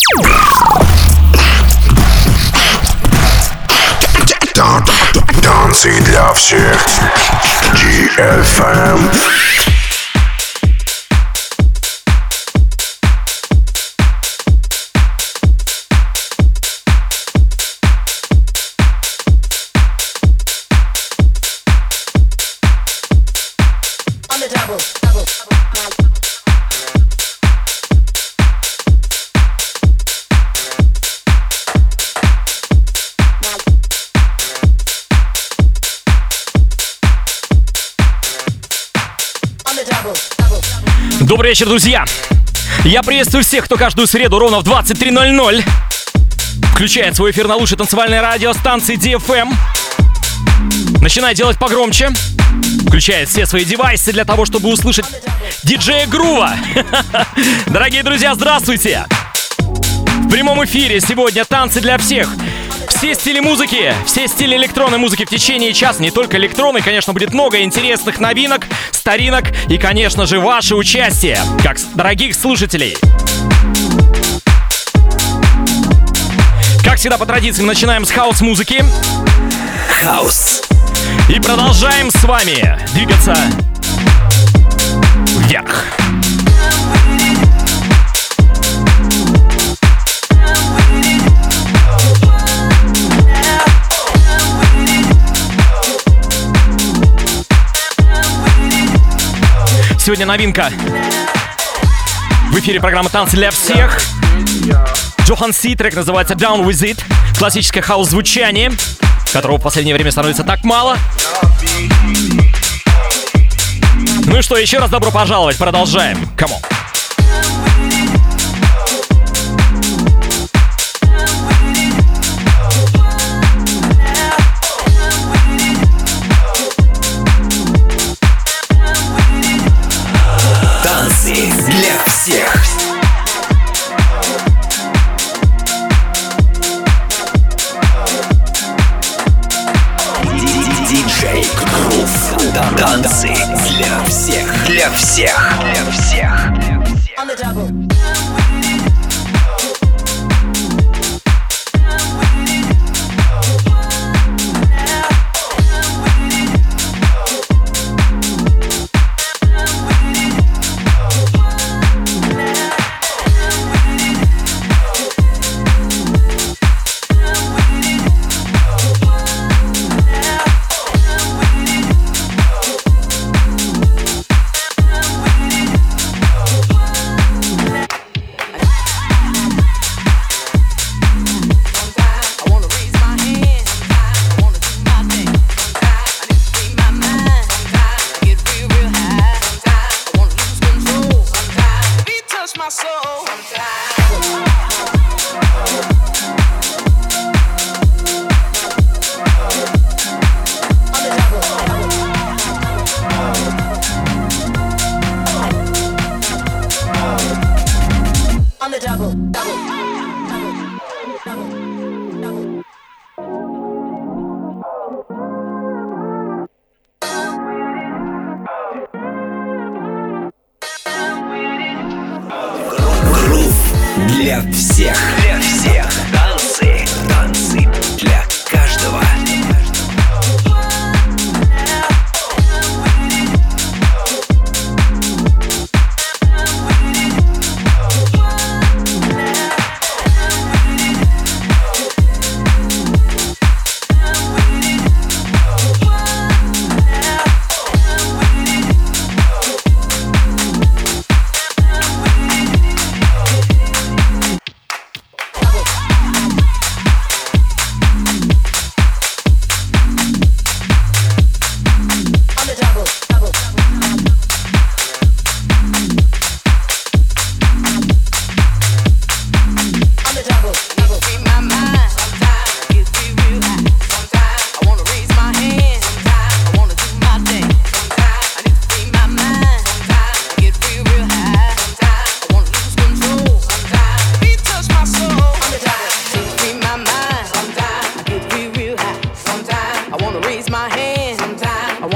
Танцы для всех. DFM. Добрый вечер, друзья! Я приветствую всех, кто каждую среду ровно в 23:00 включает свой эфир на лучшей танцевальной радиостанции DFM. Начинает делать погромче. Включает все свои девайсы для того, чтобы услышать диджея Грува. Дорогие друзья, здравствуйте! В прямом эфире сегодня танцы для всех. Все стили музыки, все стили электронной музыки в течение часа. Не только электронной, конечно, будет много интересных новинок, старинок и, конечно же, ваше участие, как дорогих слушателей. Как всегда, по традиции, мы начинаем с хаус-музыки. Хаус. И продолжаем с вами двигаться вверх. Сегодня новинка в эфире программы «Танцы для всех». Джохан Си, трек называется «Down With It». Классическое хаус-звучание, которого в последнее время становится так мало. Ну и что, еще раз добро пожаловать, продолжаем. Come on. Для всех. Диджей Грув. Танцы для всех. Для всех. Для всех. Для всех. Для всех. Танцы. Танцы для каждого.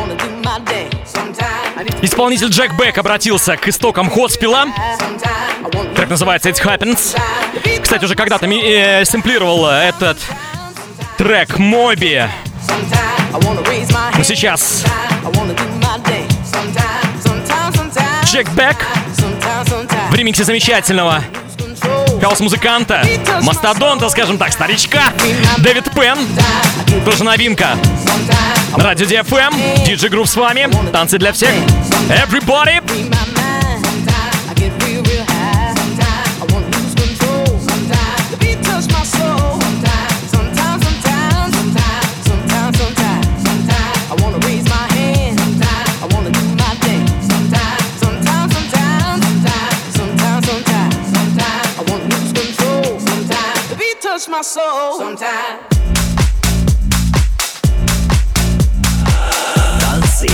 Исполнитель Джек Бек обратился к истокам хоспила Трек называется It Happens. Кстати, уже когда-то сэмплировал этот трек Моби. Но сейчас Джек Бек в ремиксе замечательного хаус-музыканта, мастодонта, скажем так, старичка Дэвид Пен. Тоже новинка. Радио DFM, DJ Groove с вами. Танцы для всех. Everybody! My soul sometimes. Танцы.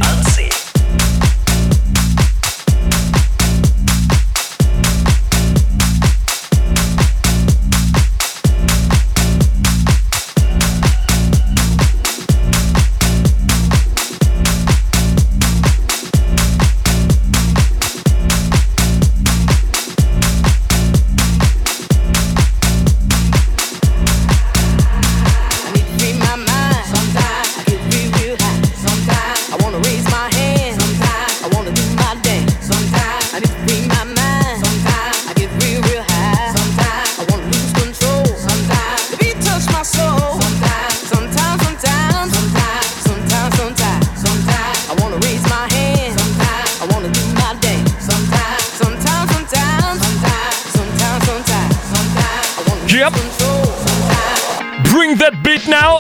Yep. Bring that beat now.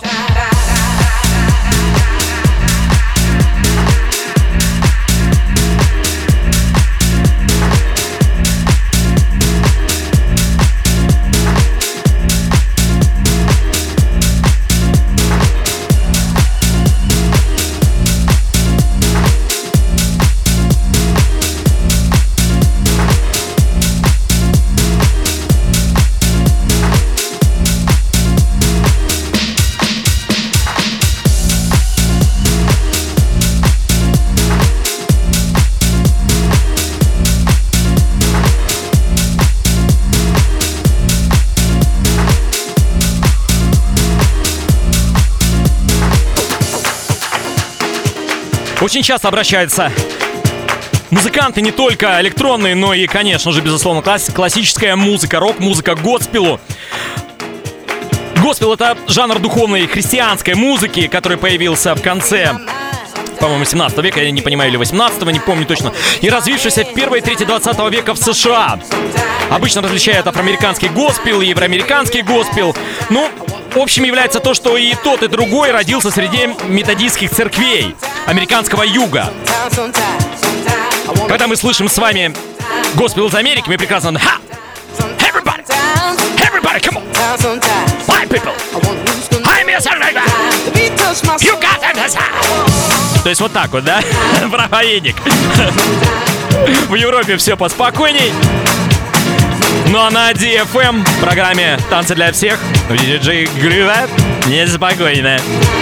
Очень часто обращаются музыканты не только электронные, но и, конечно же, безусловно, классическая музыка, рок-музыка, госпелу. Госпел — это жанр духовной христианской музыки, который появился в конце, по-моему, 17 века, я не понимаю, или 18-го, не помню точно, и развившийся в первой трети 20 века в США. Обычно различают афроамериканский госпел и евроамериканский госпел. Ну, в общем, является то, что и тот, и другой родился среди методистских церквей американского юга. Когда мы слышим с вами госпел из Америки, мы прекрасно... Ха! Everybody! Everybody, come on! White people! I'm your son, you got it! То есть вот так вот, да? Проповедник. В Европе все поспокойней. Ну а на DFM в программе «Танцы для всех» в DJ Groove неспокойно.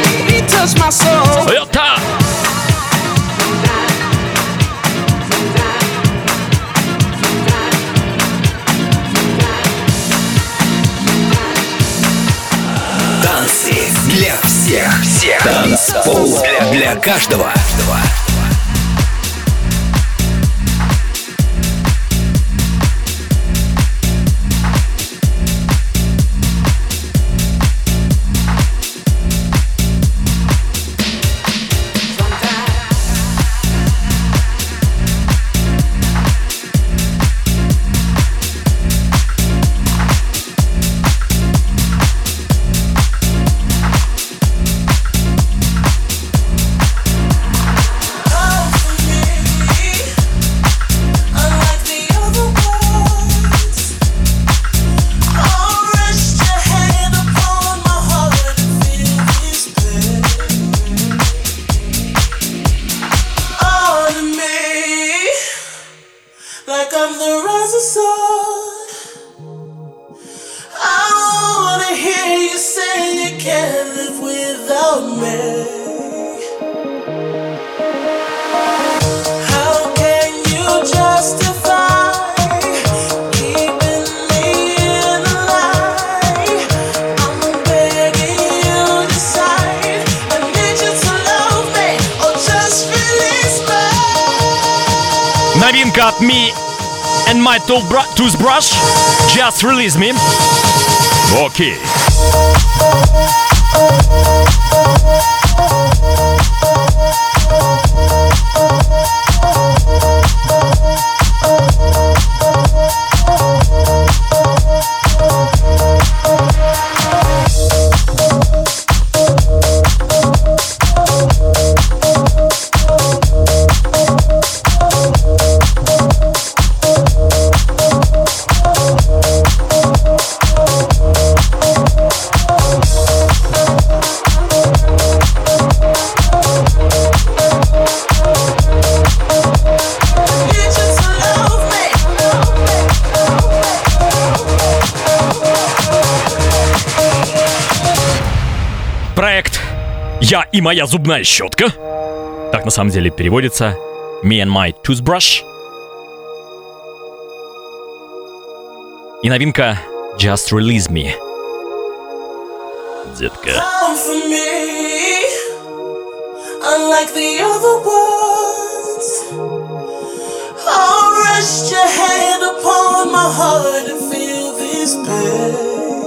Это... Танцы для всех. Танцпол для каждого. новинка от Me and My Toothbrush. Just Release Me. Окей. Проект «Я и моя зубная щетка». Так на самом деле переводится Me and My Toothbrush. И новинка Just Release Me. Детка. Unlike the other ones, I'll rest your hand upon my heart and feel this pain.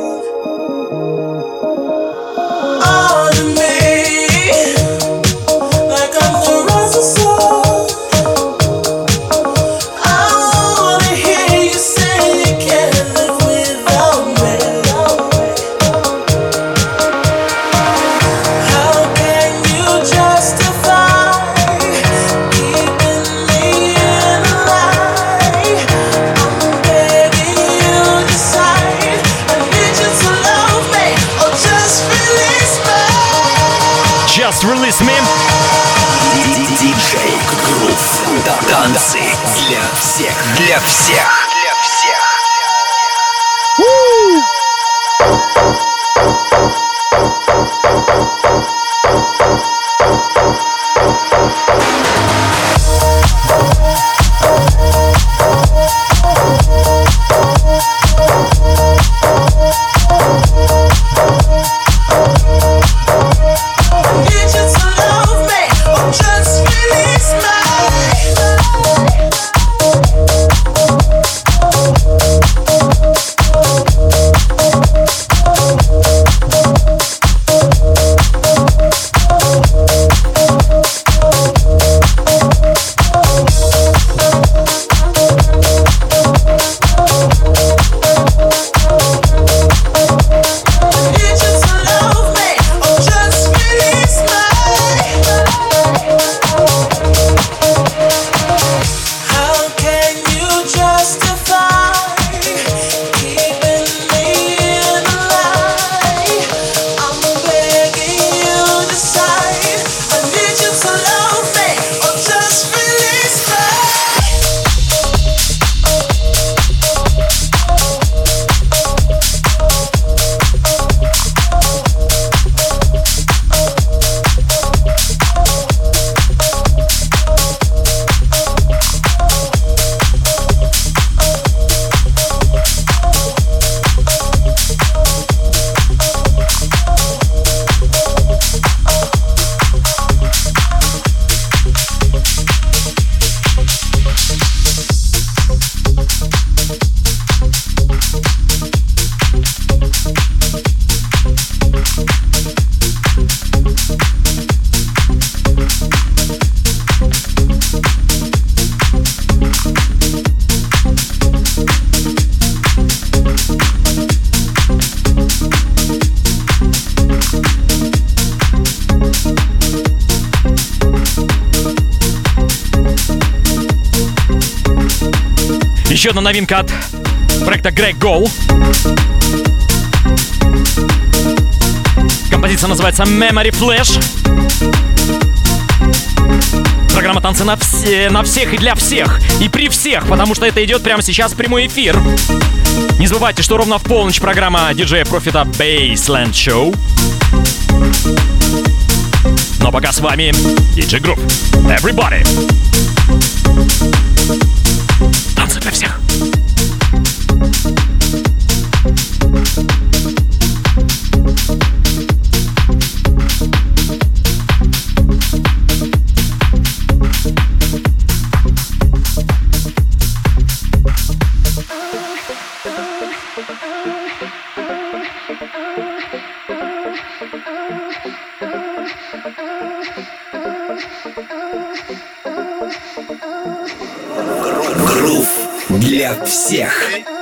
Just Release Me. Диджей Грув. Танцы для всех. Для всех. Для всех. Еще одна новинка от проекта Greg Go. Композиция называется Memory Flash. Программа «Танцы на всех и для всех. И при всех», потому что это идет прямо сейчас в прямой эфир. Не забывайте, что ровно в полночь программа диджея Профита Baseland Show. Но пока с вами DJ Group. Everybody! Танцы для всех. для всех.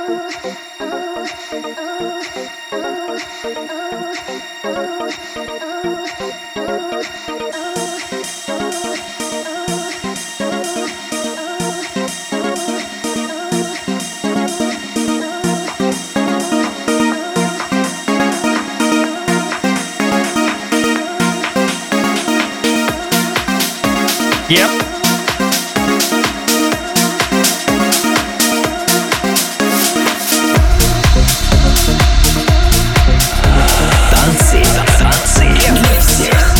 Yep. Танцы для всех.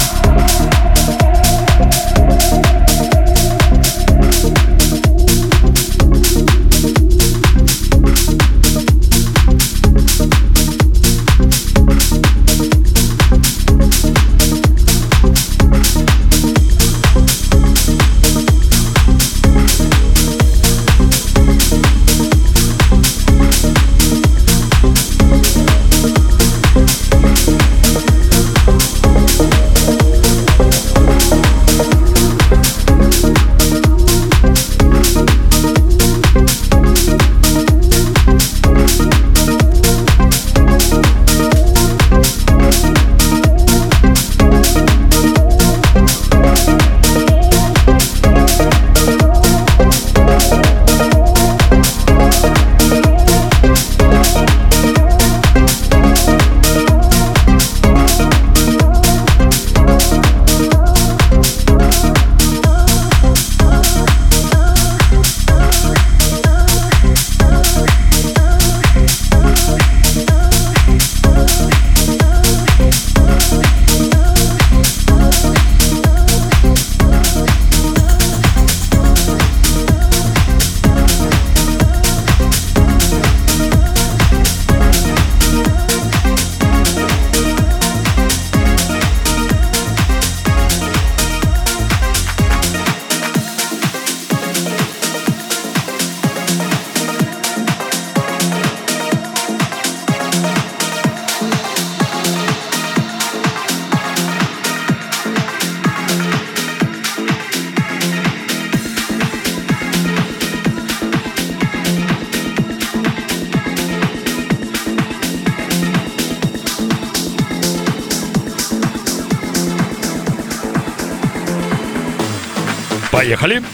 Поехали.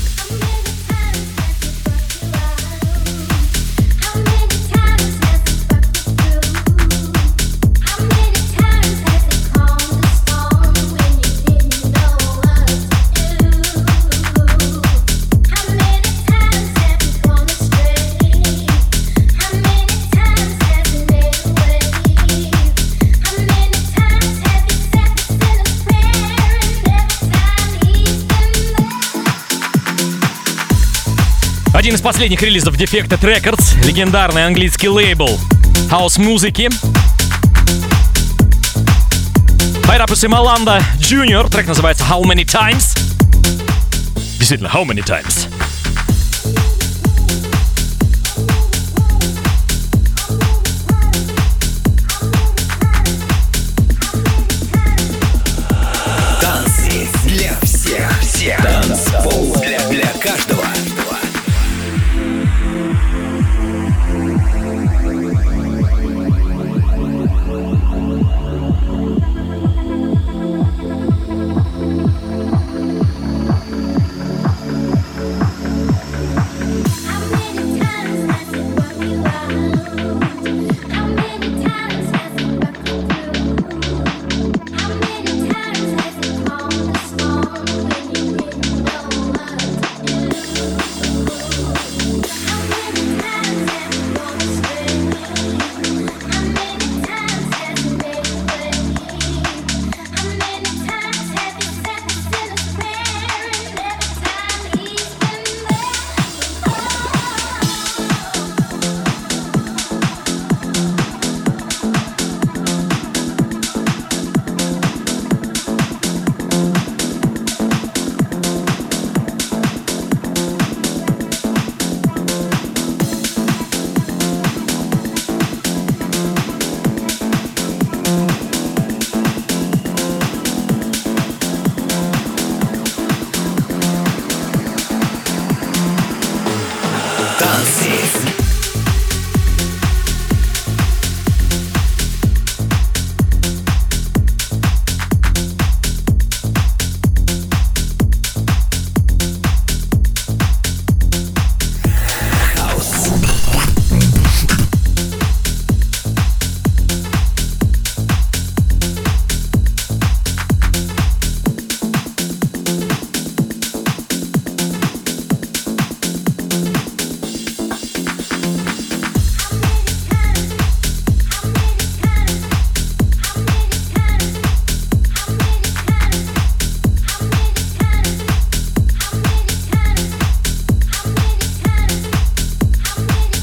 Один из последних релизов Defected Records, легендарный английский лейбл хаус-музыки. Пайрапус и Маланда Junior, трек называется How Many Times. Действительно, How Many Times. Танцы для всех. Танцпол для каждого.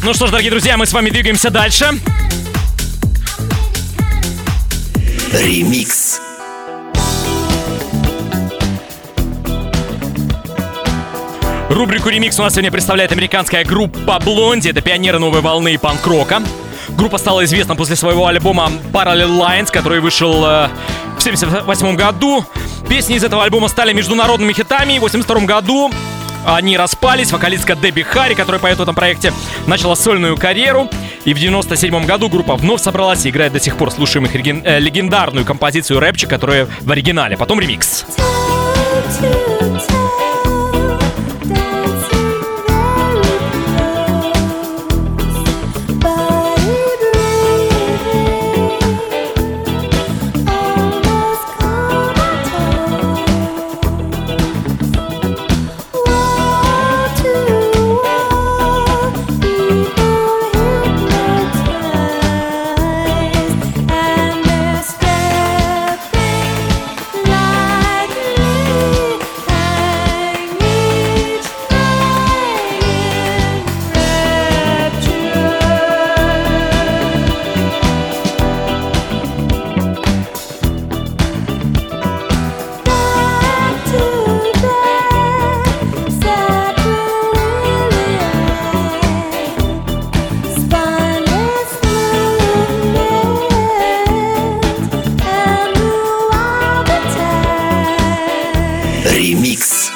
Ну что ж, дорогие друзья, мы с вами двигаемся дальше. Ремикс. Рубрику «Ремикс» у нас сегодня представляет американская группа Blondie. Это пионеры новой волны панк-рока. Группа стала известна после своего альбома Parallel Lines, который вышел в 1978 году. Песни из этого альбома стали международными хитами. В 1982 году они распались. Вокалистка Дебби Харри, которая поет в этом проекте, начала сольную карьеру. И в 1997 году группа вновь собралась и играет до сих пор слушаем их легендарную композицию «Рэпчик», которая в оригинале. Потом ремикс. Ремикс.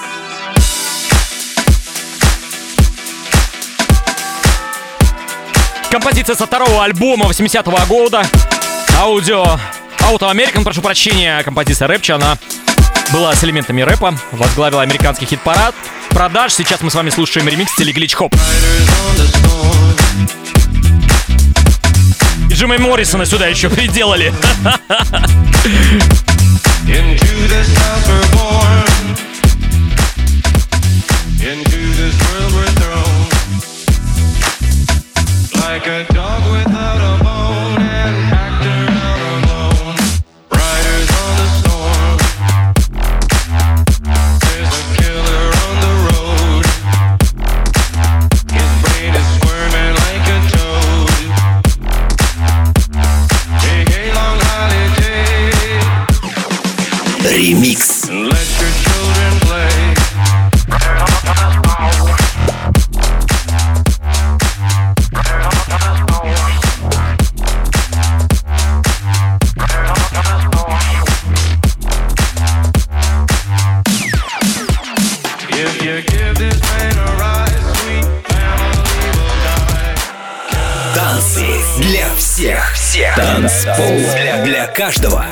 Композиция со второго альбома 80-го года. Auto American, прошу прощения, композиция «Рэпчик». Она была с элементами рэпа, возглавила американский хит-парад продаж. Сейчас мы с вами слушаем ремикс в стиле глич-хоп. И Джима Моррисона сюда еще приделали. Like a dog without a bone, an actor out alone, riders on the storm. There's a killer on the road. His brain is squirming like a toad. Take a long holiday. Ремикс. And let your children play. Танцы для всех. Танцпол для каждого.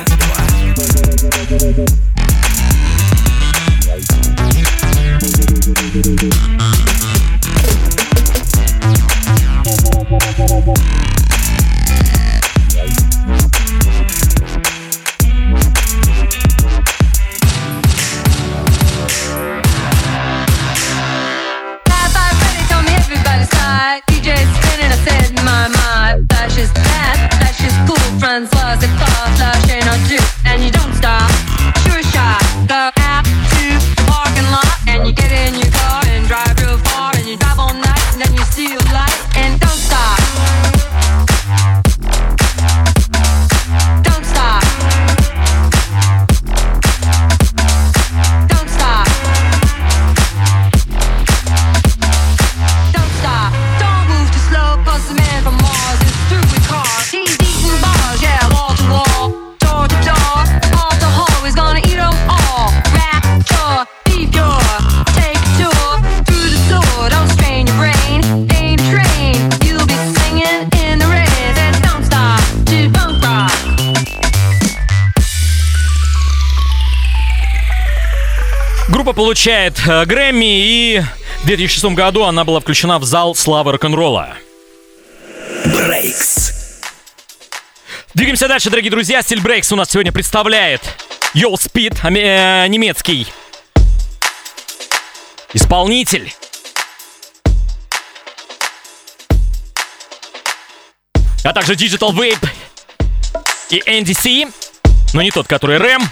Группа получает Грэмми, и в 2006 году она была включена в зал славы рок-н-ролла. Брейкс. Двигаемся дальше, дорогие друзья. Стиль Брейкс у нас сегодня представляет Yo Speed, немецкий исполнитель. А также Digital Vape и NDC, но не тот, который Рэм.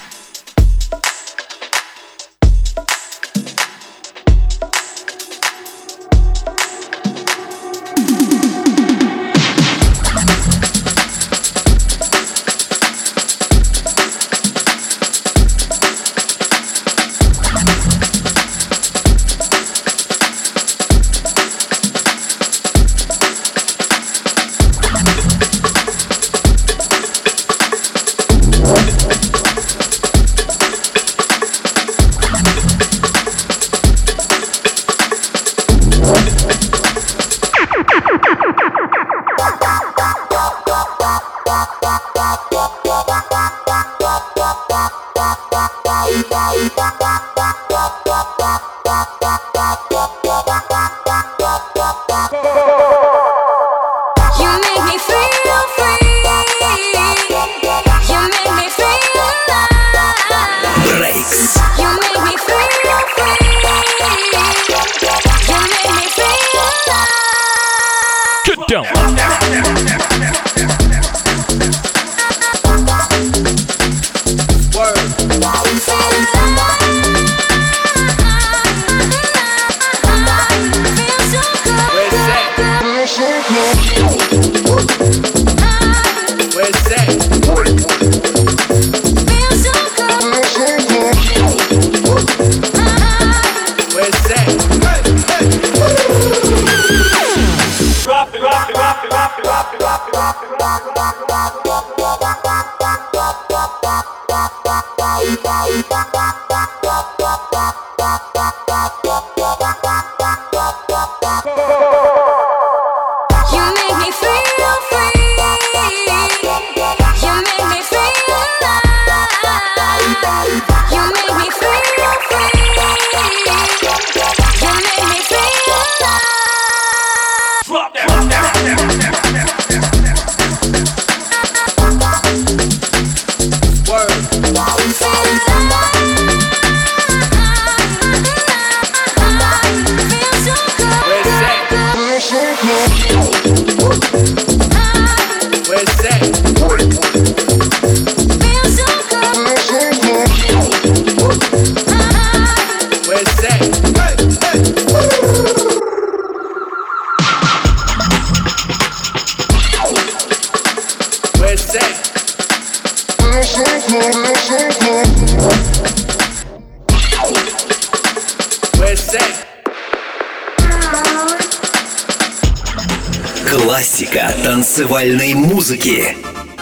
Классика танцевальной музыки.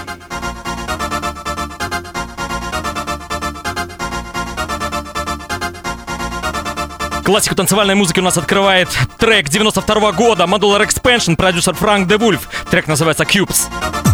Классику танцевальной музыки у нас открывает трек 92 года Modular Expansion, продюсер Frank De Wolf. Трек называется Cubes.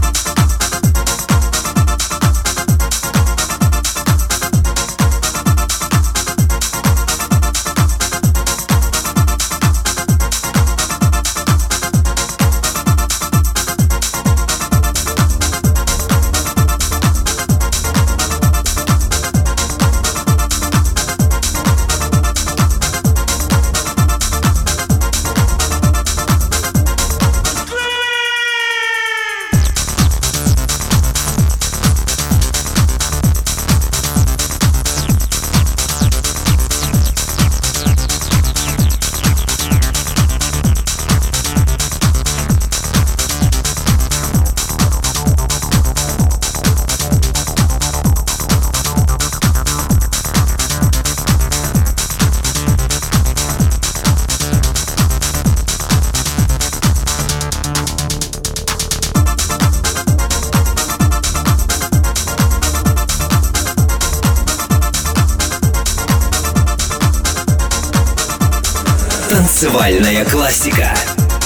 Танцевальная классика.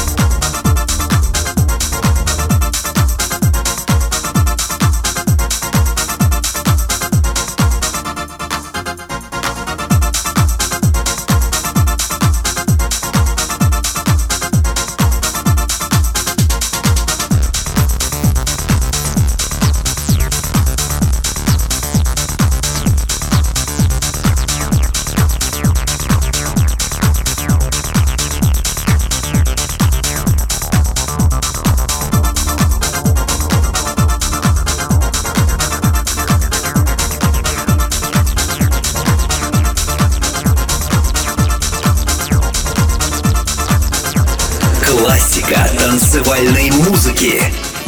Классика танцевальной музыки.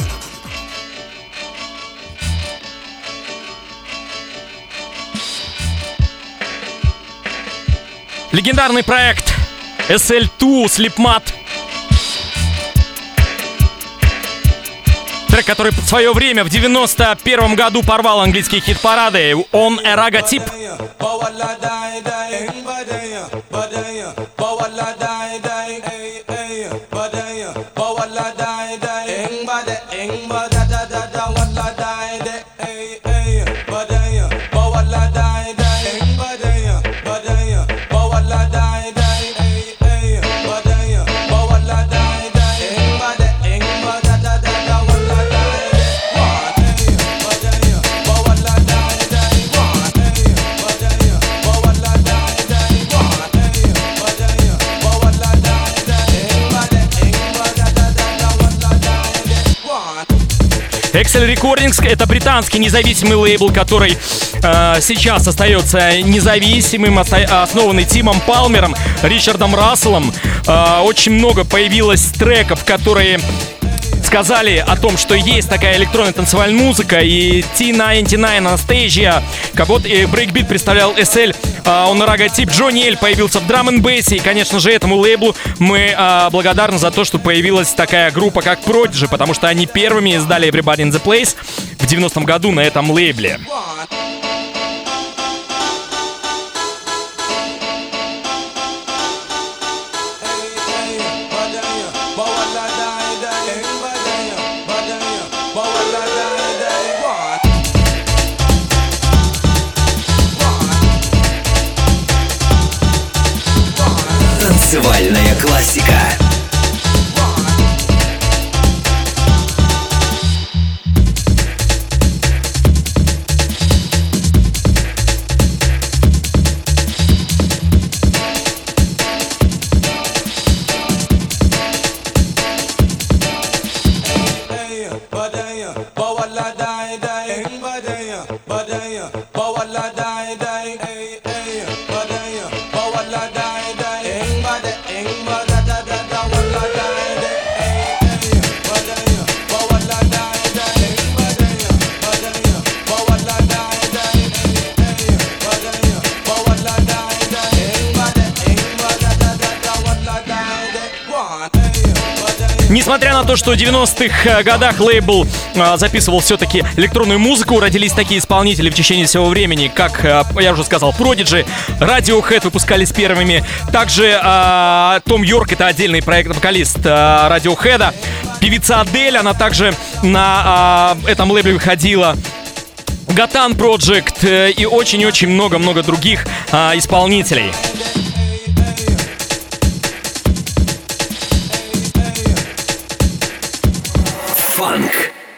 Легендарный проект SL2 Slipmat. Трек, который в свое время в 91 году порвал английские хит-парады. On a Raga Tip. Excel Recordings — это британский независимый лейбл, который сейчас остается независимым, основанный Тимом Палмером, Ричардом Расселом. Очень много появилось треков, которые сказали о том, что есть такая электронная танцевальная музыка, и T99, Anastasia, вот и Breakbeat представлял SL, On a Raga Tip, Джонни Эль появился в драм-н-бейсе, и, конечно же, этому лейблу мы благодарны за то, что появилась такая группа, как Prodigy, потому что они первыми издали Everybody in the Place в 90-м году на этом лейбле. Танцевальная классика. Несмотря на то, что в 90-х годах лейбл записывал все-таки электронную музыку, родились такие исполнители в течение всего времени, как, я уже сказал, Prodigy, Radiohead выпускались первыми. Также Том Йорк, это отдельный проект, вокалист Radiohead. Певица Адель, она также на этом лейбле выходила. Гатан Project и очень-очень много-много других исполнителей. Фанк.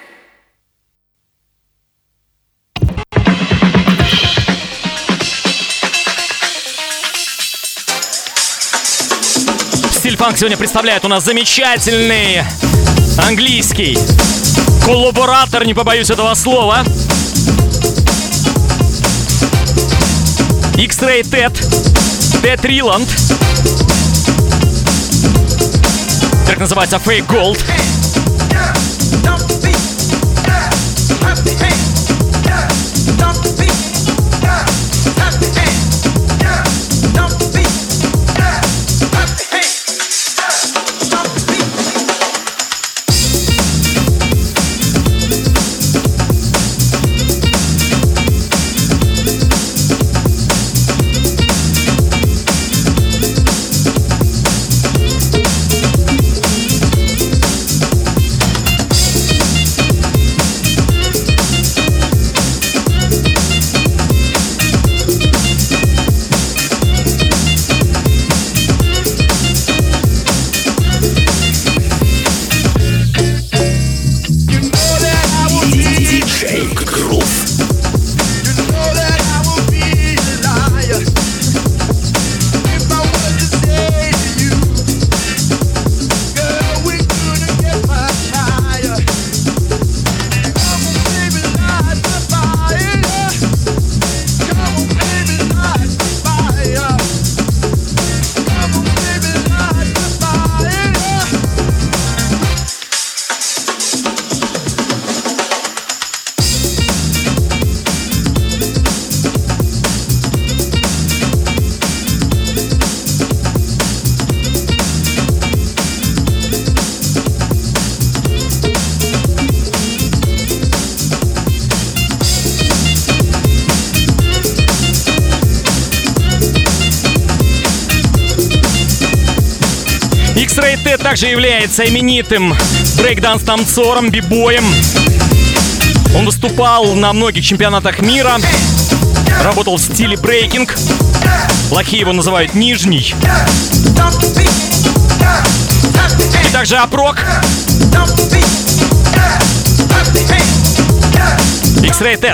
Стиль фанк сегодня представляет у нас замечательный английский коллаборатор, не побоюсь этого слова. X-Ray Ted Риланд. Трек называется Fake Gold. X-Ray Ted также является именитым брейкданс-танцором, бибоем. Он выступал на многих чемпионатах мира, работал в стиле брейкинг. Плохие его называют нижний. И также Апрок. X-Ray Ted.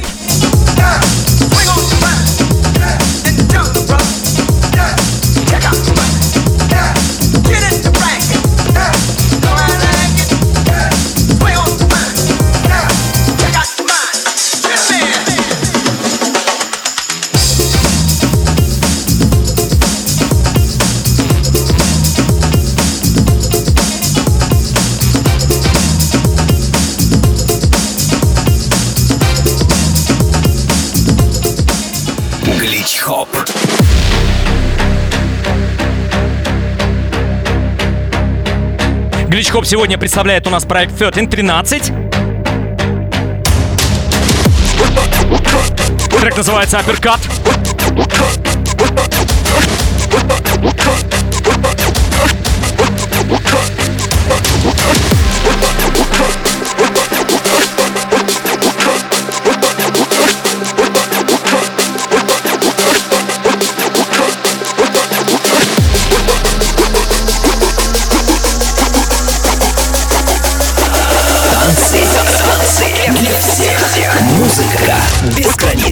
Глич-хоп. Глич-хоп сегодня представляет у нас проект 1313. Трек называется Uppercut. Для всех. Музыка без границ.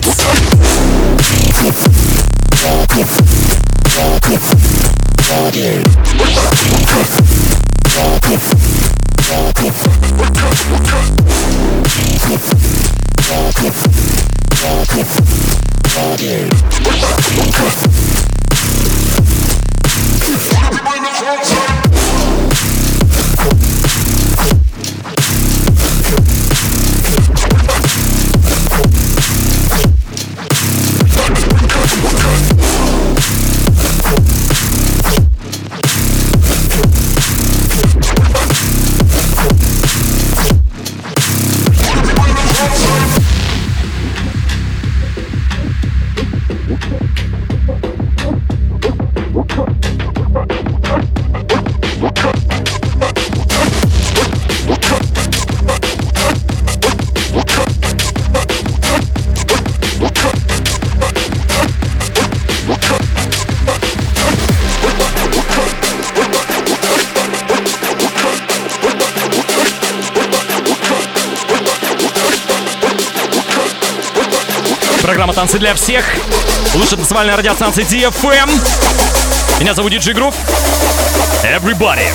Программа «Танцы для всех». Лучшая танцевальная радиостанция DFM. Меня зовут DJ Groove. Everybody.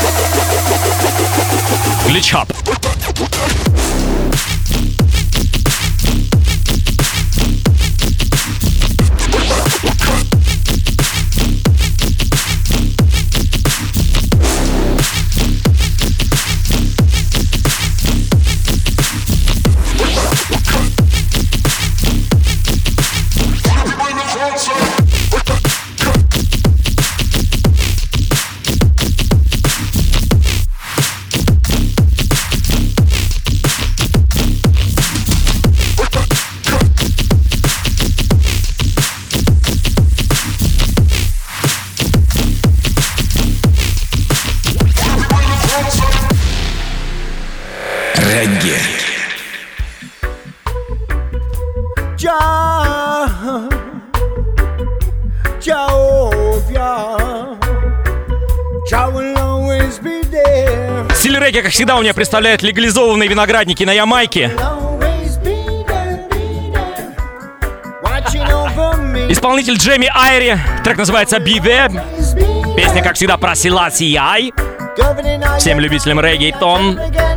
Glitch up. Стиль регги, как всегда, у меня представляют легализованные виноградники на Ямайке. Исполнитель Джейми Айри. Трек называется Be There. Песня, как всегда, про Селаси Ай. Всем любителям регги и тон.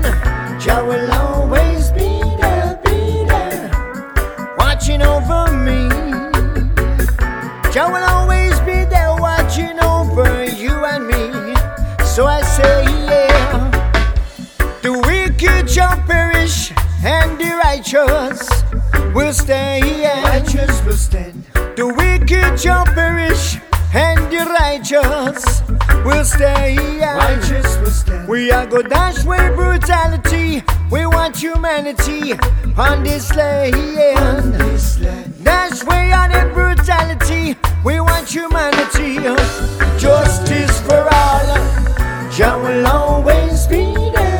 So I say, yeah, the wicked shall perish and the righteous will stay. Yeah. Righteous will stand. The wicked shall perish and the righteous will stay. Yeah. Righteous will stand. We are go dash away brutality. We want humanity on this land. Dash away on the brutality. We want humanity. Justice for all. Jah will always be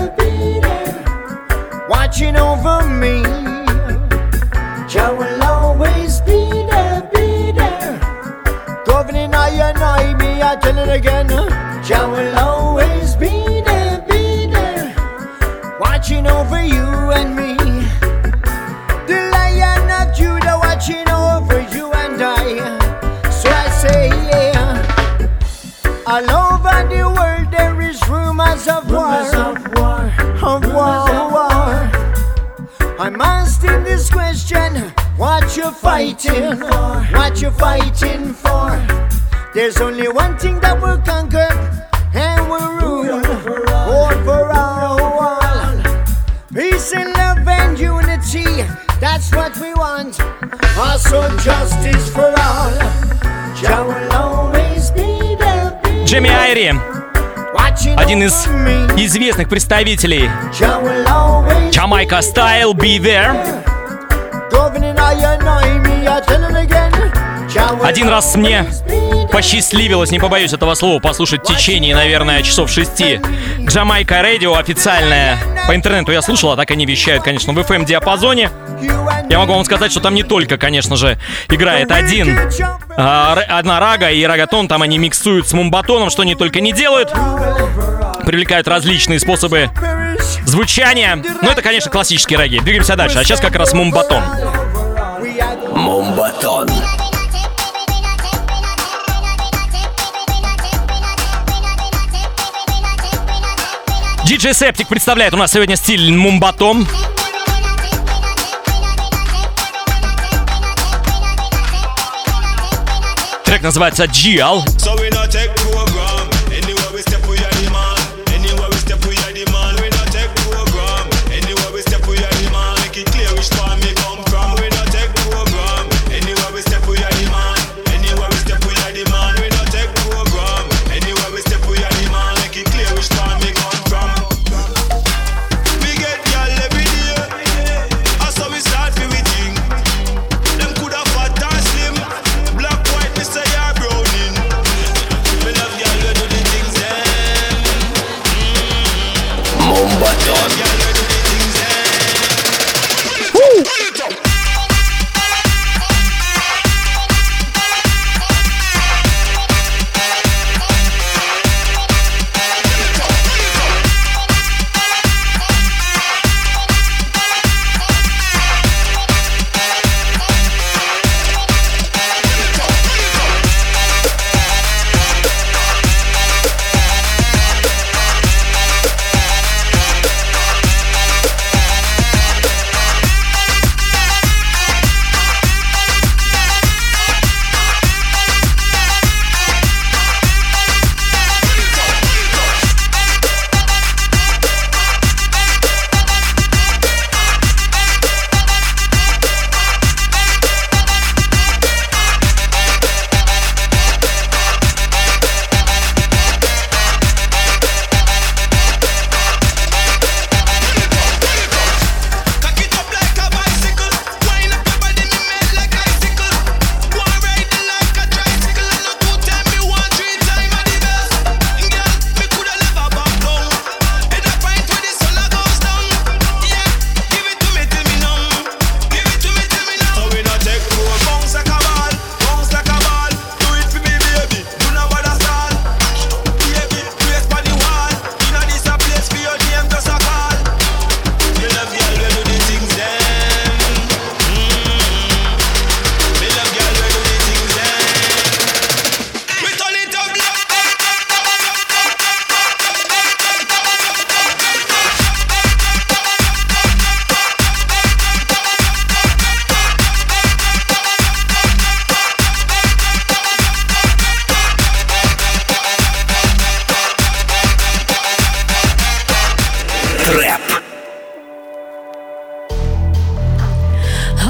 there, watching over me. Jah will always be there, governing I and I, me, I tell it again. Jah will always be there, watching over you and me. The Lion of Judah watching over you and I. So I say, yeah, all over the world there is rumors of war. I'm asking this question, what you fighting for? What you fighting for? There's only one thing that will conquer and will rule over all. Peace and love and unity, that's what we want. Also justice for all. Jah will always be there. Джейми Айри. Один из известных представителей Jamaica Style, Be There. Один раз мне посчастливилось, не побоюсь этого слова, послушать в течение, наверное, часов 6 Jamaica Radio официальное. По интернету я слушал, а так они вещают, конечно, в FM-диапазоне. Я могу вам сказать, что там не только, конечно же, играет одна рага и рагатон, там они миксуют с мумбатоном, что они только не делают. Привлекают различные способы звучания. Но это, конечно, классический регги. Двигаемся дальше. А сейчас как раз мумбатон. Мумбатон. DJ Septic представляет у нас сегодня стиль мумбатон. Трек называется GL. Them coulda fat and slim, black, white, me say you're browning.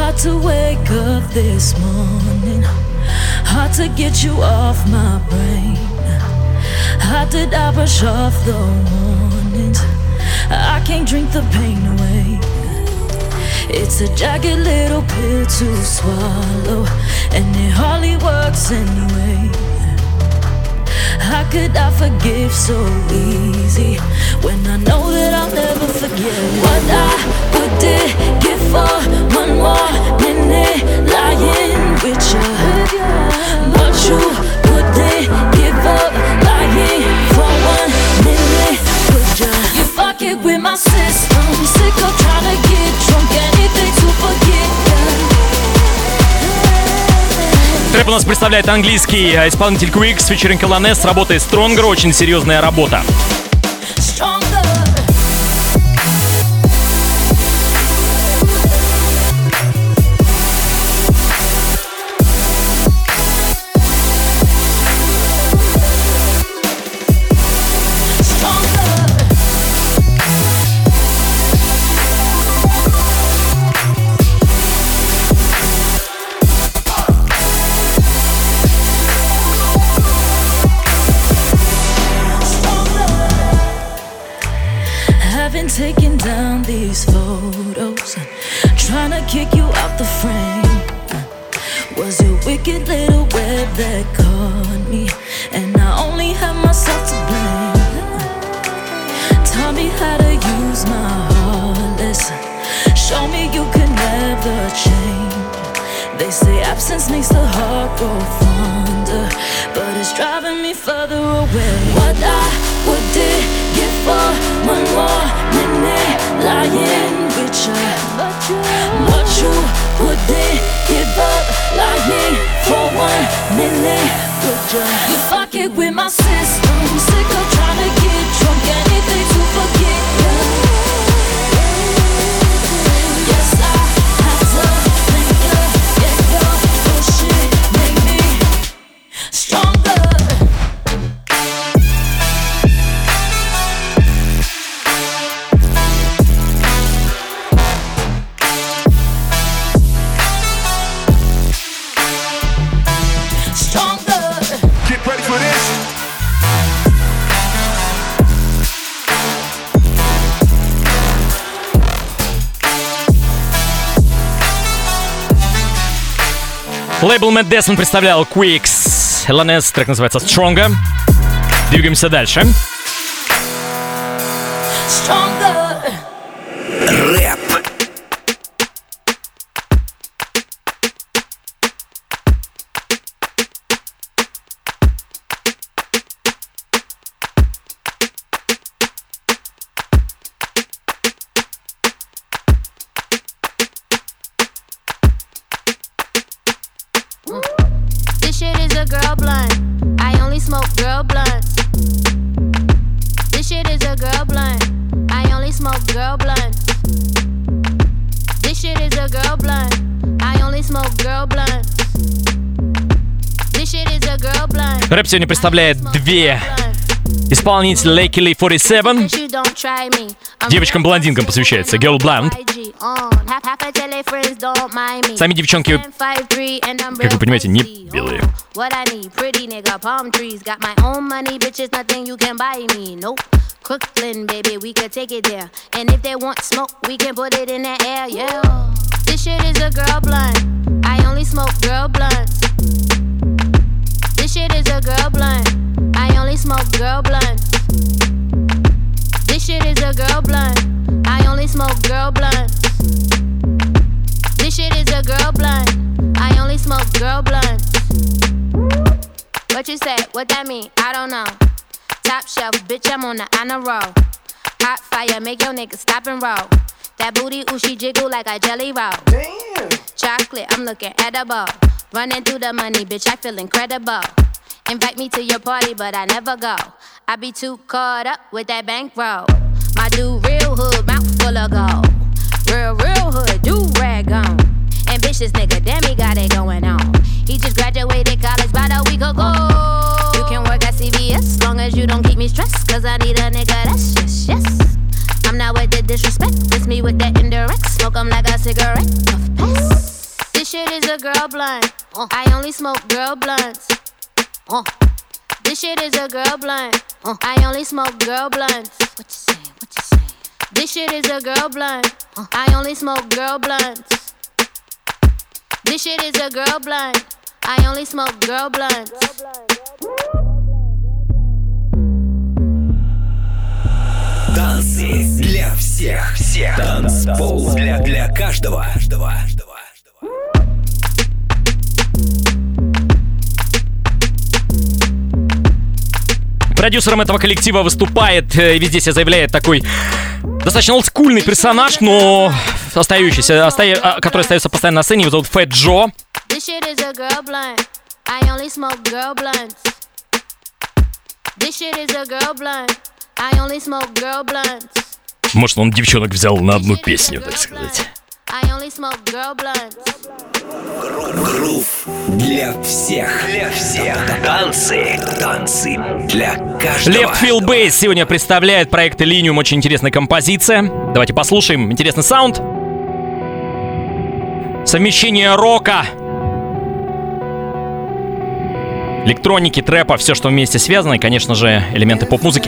Hard to wake up this morning, hard to get you off my brain. How did I brush off the warnings? I can't drink the pain away. It's a jagged little pill to swallow, and it hardly works anyway. How could I forgive so easy when I know that I'll never forget what I would give for one more minute lying with you? What you wouldn't give up lying for 1 minute with you? You fuck it with my system, sick of trying to get drunk, anything to forget you. Трэп у нас представляет английский исполнитель Quix с featuring Alanes с работой Stronger, очень серьезная работа. Taking down these photos, trying to kick you out the frame. Was a wicked little web that caught me, and I only have myself to blame. Taught me how to use my heart, listen. Show me you can never change. They say absence makes the heart grow fonder, but it's driving me further away. What I would give for one more minute lying with you, but you wouldn't give up lying for 1 minute with you. You fuck it with my system, sick of trying to get drunk, anything to forget you. Yes, I have to thank you. Yeah, your bullshit made me stronger. Лейбл Matt Desmond представлял Quix. Alanes, трек называется Stronger. Двигаемся дальше. Рэп. This shit is a girl blunt. I only smoke girl blunts. This shit is a girl blunt. I only smoke girl blunts. This shit is a girl blunt. I only smoke girl blunts. This shit is a girl blunt. Рэп сегодня представляет две исполнителя Lakely 47. Девочкам-блондинкам посвящается Girl Blunt. Сами девчонки, как вы понимаете, не белые. Crooklyn, baby, we could take it there. And if they want smoke, we can put it in the air, yeah. This shit is a girl blunt. I only smoke girl blunts. This shit is a girl blunt. I only smoke girl blunts. This shit is a girl blunt. I only smoke girl blunts. This shit is a girl blunt. I only smoke girl blunts. What you say? What that mean? I don't know. Top shelf, bitch, I'm on the honor roll. Hot fire, make your nigga stop and roll. That booty, ooh, she jiggle like a jelly roll. Damn. Chocolate, I'm looking edible. Running through the money, bitch, I feel incredible. Invite me to your party, but I never go. I be too caught up with that bankroll. My dude, real hood, mouth full of gold. Real hood, do rag on. Ambitious nigga, damn, he got it going on. He just graduated college about a week ago. You can work at CVS, long as you don't keep me stressed. Cause I need a nigga that's yes. I'm not with the disrespect, it's me with that indirect. Smoke 'em like a cigarette, puff pass. a girl blunt. I only smoke girl blunts. This shit is a girl blunt. I only smoke girl blunts. What you say? What you say? This shit is a girl blunt. I only smoke girl blunts. This shit is a girl blunt. I only smoke girl blunts. Танцы для всех. Танцпол для каждого. Продюсером этого коллектива выступает и везде себя заявляет такой достаточно олдскульный персонаж, но который остается постоянно на сцене. Его зовут Fat Joe. Может, он девчонок взял на одну песню, так сказать. Грув для всех. Танцы для каждого. Left Field Bass сегодня представляет проект Illenium. Очень интересная композиция. Давайте послушаем. Интересный саунд. Совмещение рока, электроники, трэпа, все, что вместе связано, и, конечно же, элементы поп-музыки.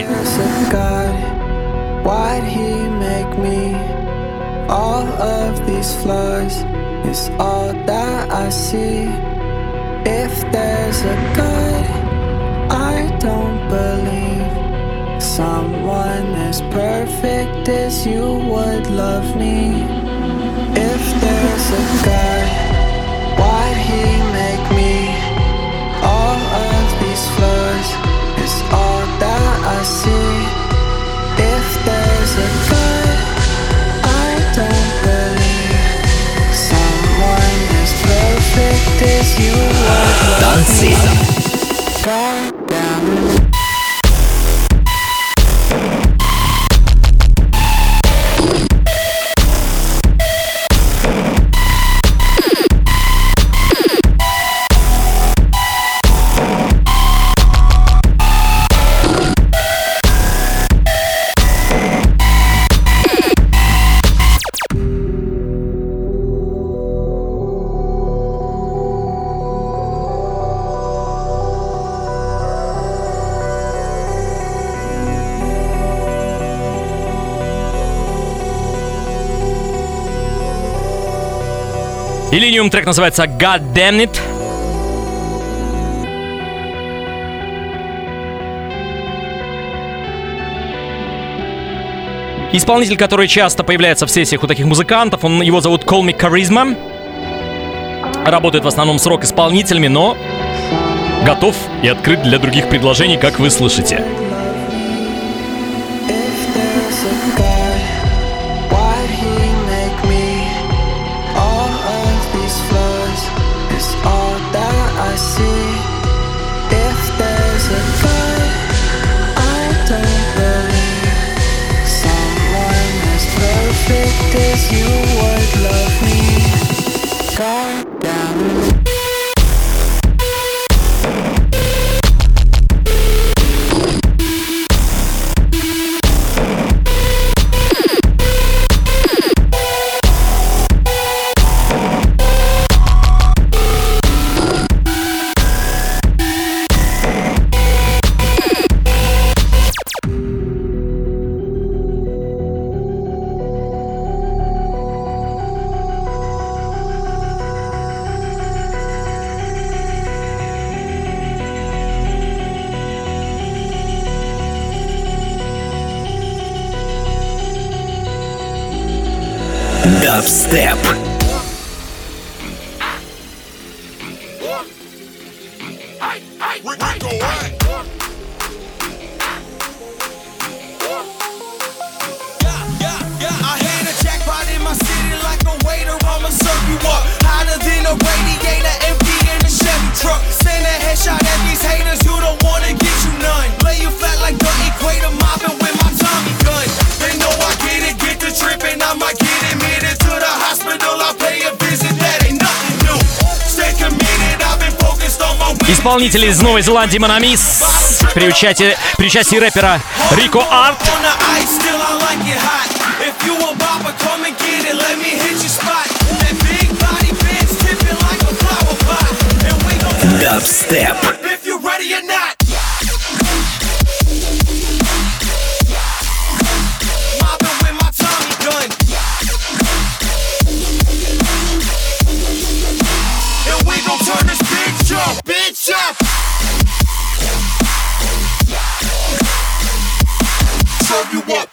All of these flaws is all that I see. If there's a God, I don't believe someone as perfect as you would love me. If there's a God, why'd he make me? All of these flaws is all that I see. If there's a God, don't believe someone as perfect as you would love me. God damn it. Illenium, трек называется God Damn It. Исполнитель, который часто появляется в сессиях у таких музыкантов, его зовут Call Me Charisma. Работает в основном с рок-исполнителями, но готов и открыт для других предложений, как вы слышите. As you would love me. God damn it. Dubstep. Исполнители из Новой Зеландии Монамис при участии рэпера Рико Арт. Dubstep. If you're ready or not. Mobbing with my Tommy gun. And we gon' turn this bitch up, bitch up. Show you what.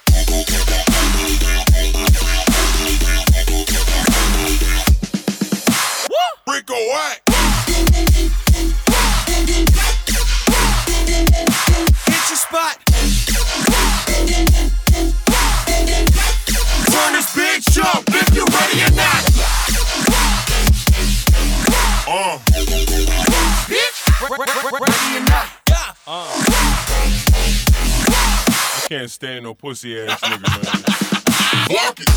Rico Wack. Hit your spot. Turn this bitch up if you ready or not. Bitch, ready or not. I can't stand no pussy ass nigga, man. Fuck it.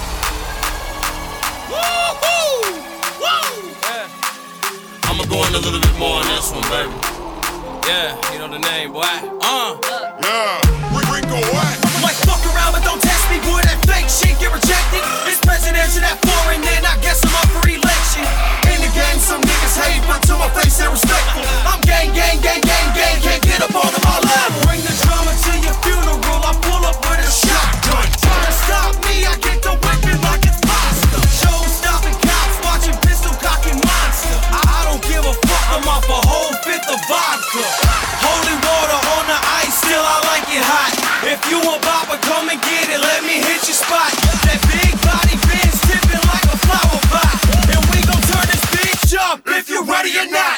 Woo-hoo! Woo! Yeah. I'ma go in a little bit more on this one, baby. Yeah, you know the name, boy. Yeah, Rico Wack. Like fuck around, but don't test me, boy. That fake shit get rejected. It's presidential, that foreign, then I guess I'm up for election. In the game, some niggas hate, but to my face they're respectful. I'm gang, gang, gang, gang, gang, can't get up on my level. Bring the drama to your funeral, I pull up with a shotgun. Try to stop me, I get the whipping like it's pasta. Show stopping cops, watching pistol cocking monster. I don't give a fuck, I'm off a whole fifth of vodka. Holy water on the ice, still I like it hot. If you a bopper, come and get it, let me hit your spot. That big body Benz tipping like a flower pot. And we gon' turn this bitch up if you ready or not.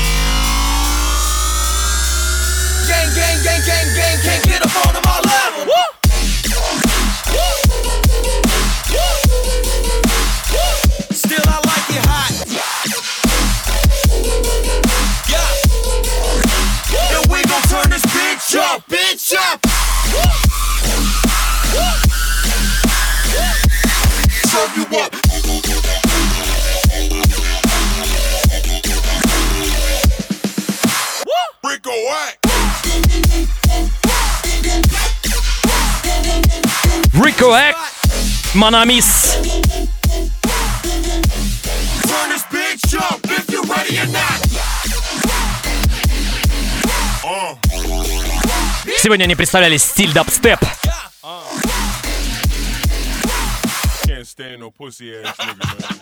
Gang, gang, gang, gang, gang, can't get up on my level. Woo! Still I like it hot. Yeah. And we gon' turn this bitch up, bitch up. Show you what. Rico Wack. Rico Wack, Манамис. Turn this bitch up if you ready or not. Сегодня они представляли стиль дабстеп. Can't stand no pussy ass nigga, man.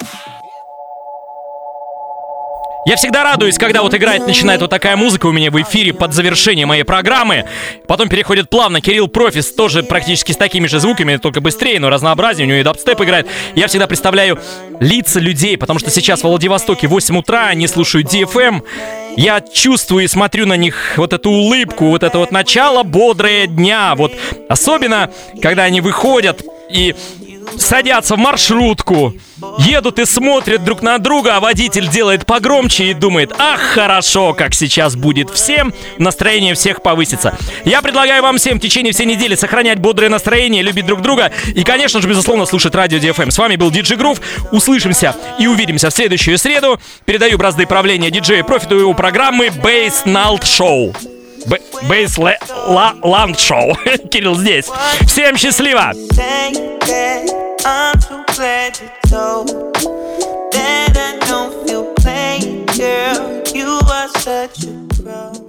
Я всегда радуюсь, когда вот играть начинает вот такая музыка у меня в эфире под завершение моей программы. Потом переходит плавно Кирилл Профис, тоже практически с такими же звуками, только быстрее, но разнообразнее. У него и дабстеп играет. Я всегда представляю лица людей, потому что сейчас в Владивостоке 8 утра, они слушают DFM. Я чувствую и смотрю на них вот эту улыбку, вот это вот начало бодрое дня. Вот особенно, когда они выходят и садятся в маршрутку, едут и смотрят друг на друга, а водитель делает погромче и думает: ах, хорошо, как сейчас будет всем, настроение всех повысится. Я предлагаю вам всем в течение всей недели сохранять бодрое настроение, любить друг друга и, конечно же, безусловно, слушать радио DFM. С вами был DJ Groove. Услышимся и увидимся в следующую среду. Передаю бразды правления диджею Профиту его программы Bass Night Show. Bass Land Show. Кирилл здесь. Всем счастливо! I'm so glad you told that I don't feel plain, girl. You are such a pro.